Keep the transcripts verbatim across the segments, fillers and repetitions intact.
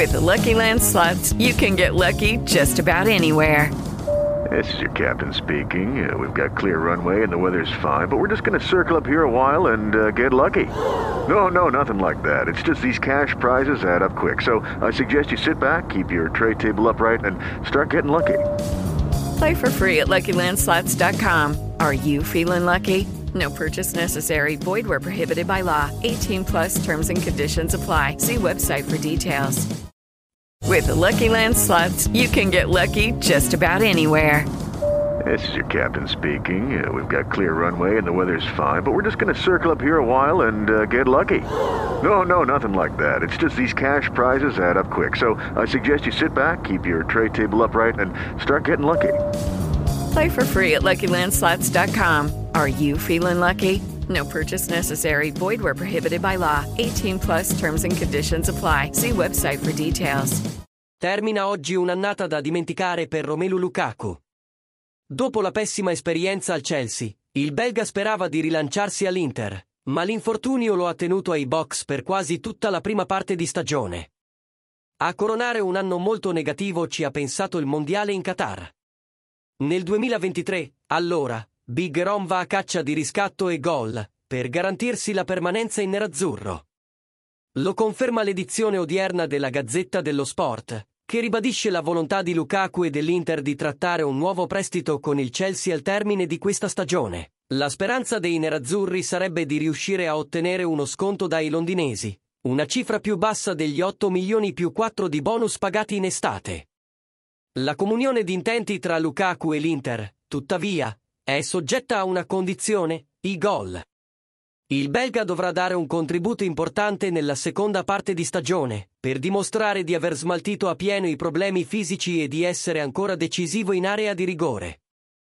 With the Lucky Land Slots, you can get lucky just about anywhere. This is your captain speaking. Uh, we've got clear runway and the weather's fine, but we're just going to circle up here a while and uh, get lucky. No, no, nothing like that. It's just these cash prizes add up quick. So I suggest you sit back, keep your tray table upright, and start getting lucky. Play for free at Lucky Land Slots dot com. Are you feeling lucky? No purchase necessary. Void where prohibited by law. eighteen plus terms and conditions apply. See website for details. With the Lucky Land Slots, you can get lucky just about anywhere. This is your captain speaking. Uh, we've got clear runway and the weather's fine, but we're just going to circle up here a while and uh, get lucky. No, no, nothing like that. It's just these cash prizes add up quick. So I suggest you sit back, keep your tray table upright, and start getting lucky. Play for free at Lucky Land Slots dot com. Are you feeling lucky? No purchase necessary. Void where prohibited by law. eighteen plus terms and conditions apply. See website for details. Termina oggi un'annata da dimenticare per Romelu Lukaku. Dopo la pessima esperienza al Chelsea, il belga sperava di rilanciarsi all'Inter, ma l'infortunio lo ha tenuto ai box per quasi tutta la prima parte di stagione. A coronare un anno molto negativo ci ha pensato il mondiale in Qatar. Nel duemilaventitré, allora, Big Rom va a caccia di riscatto e gol, per garantirsi la permanenza in nerazzurro. Lo conferma l'edizione odierna della Gazzetta dello Sport, che ribadisce la volontà di Lukaku e dell'Inter di trattare un nuovo prestito con il Chelsea al termine di questa stagione. La speranza dei nerazzurri sarebbe di riuscire a ottenere uno sconto dai londinesi, una cifra più bassa degli otto milioni più quattro di bonus pagati in estate. La comunione di intenti tra Lukaku e l'Inter, tuttavia, è soggetta a una condizione, i gol. Il belga dovrà dare un contributo importante nella seconda parte di stagione, per dimostrare di aver smaltito a pieno i problemi fisici e di essere ancora decisivo in area di rigore.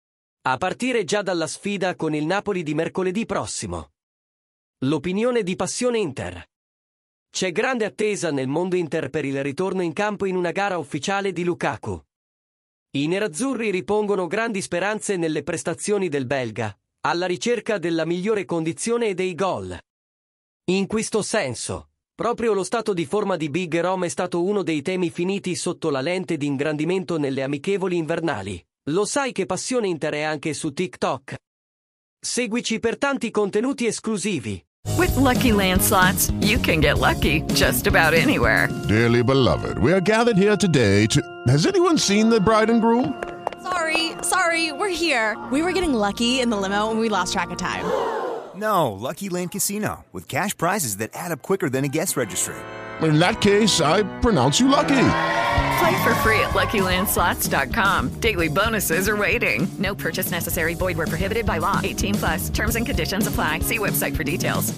A partire già dalla sfida con il Napoli di mercoledì prossimo. L'opinione di Passione Inter. C'è grande attesa nel mondo Inter per il ritorno in campo in una gara ufficiale di Lukaku. I nerazzurri ripongono grandi speranze nelle prestazioni del belga, alla ricerca della migliore condizione e dei gol. In questo senso, proprio lo stato di forma di Big Rom è stato uno dei temi finiti sotto la lente di ingrandimento nelle amichevoli invernali. Lo sai che Passione Inter è anche su TikTok? Seguici per tanti contenuti esclusivi. With Lucky Land Slots, you can get lucky just about anywhere. Dearly beloved, we are gathered here today to... Has anyone seen the bride and groom? Sorry, sorry, we're here. We were getting lucky in the limo and we lost track of time. No, Lucky Land Casino, with cash prizes that add up quicker than a guest registry. In that case, I pronounce you lucky. Play for free at Lucky Land Slots dot com. Daily bonuses are waiting. No purchase necessary. Void where prohibited by law. eighteen plus. Terms and conditions apply. See website for details.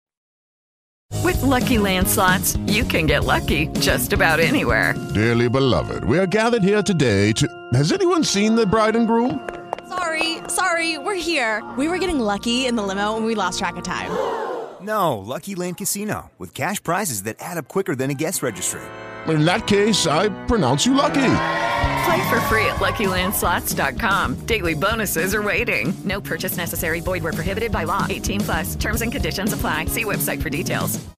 With Lucky Land Slots, you can get lucky just about anywhere. Dearly beloved, we are gathered here today to... Has anyone seen the bride and groom? Sorry, sorry, we're here. We were getting lucky in the limo and we lost track of time. No, Lucky Land Casino, with cash prizes that add up quicker than a guest registry. In that case, I pronounce you lucky. Play for free at Lucky Land Slots dot com. Daily bonuses are waiting. No purchase necessary. Void where prohibited by law. eighteen plus. Terms and conditions apply. See website for details.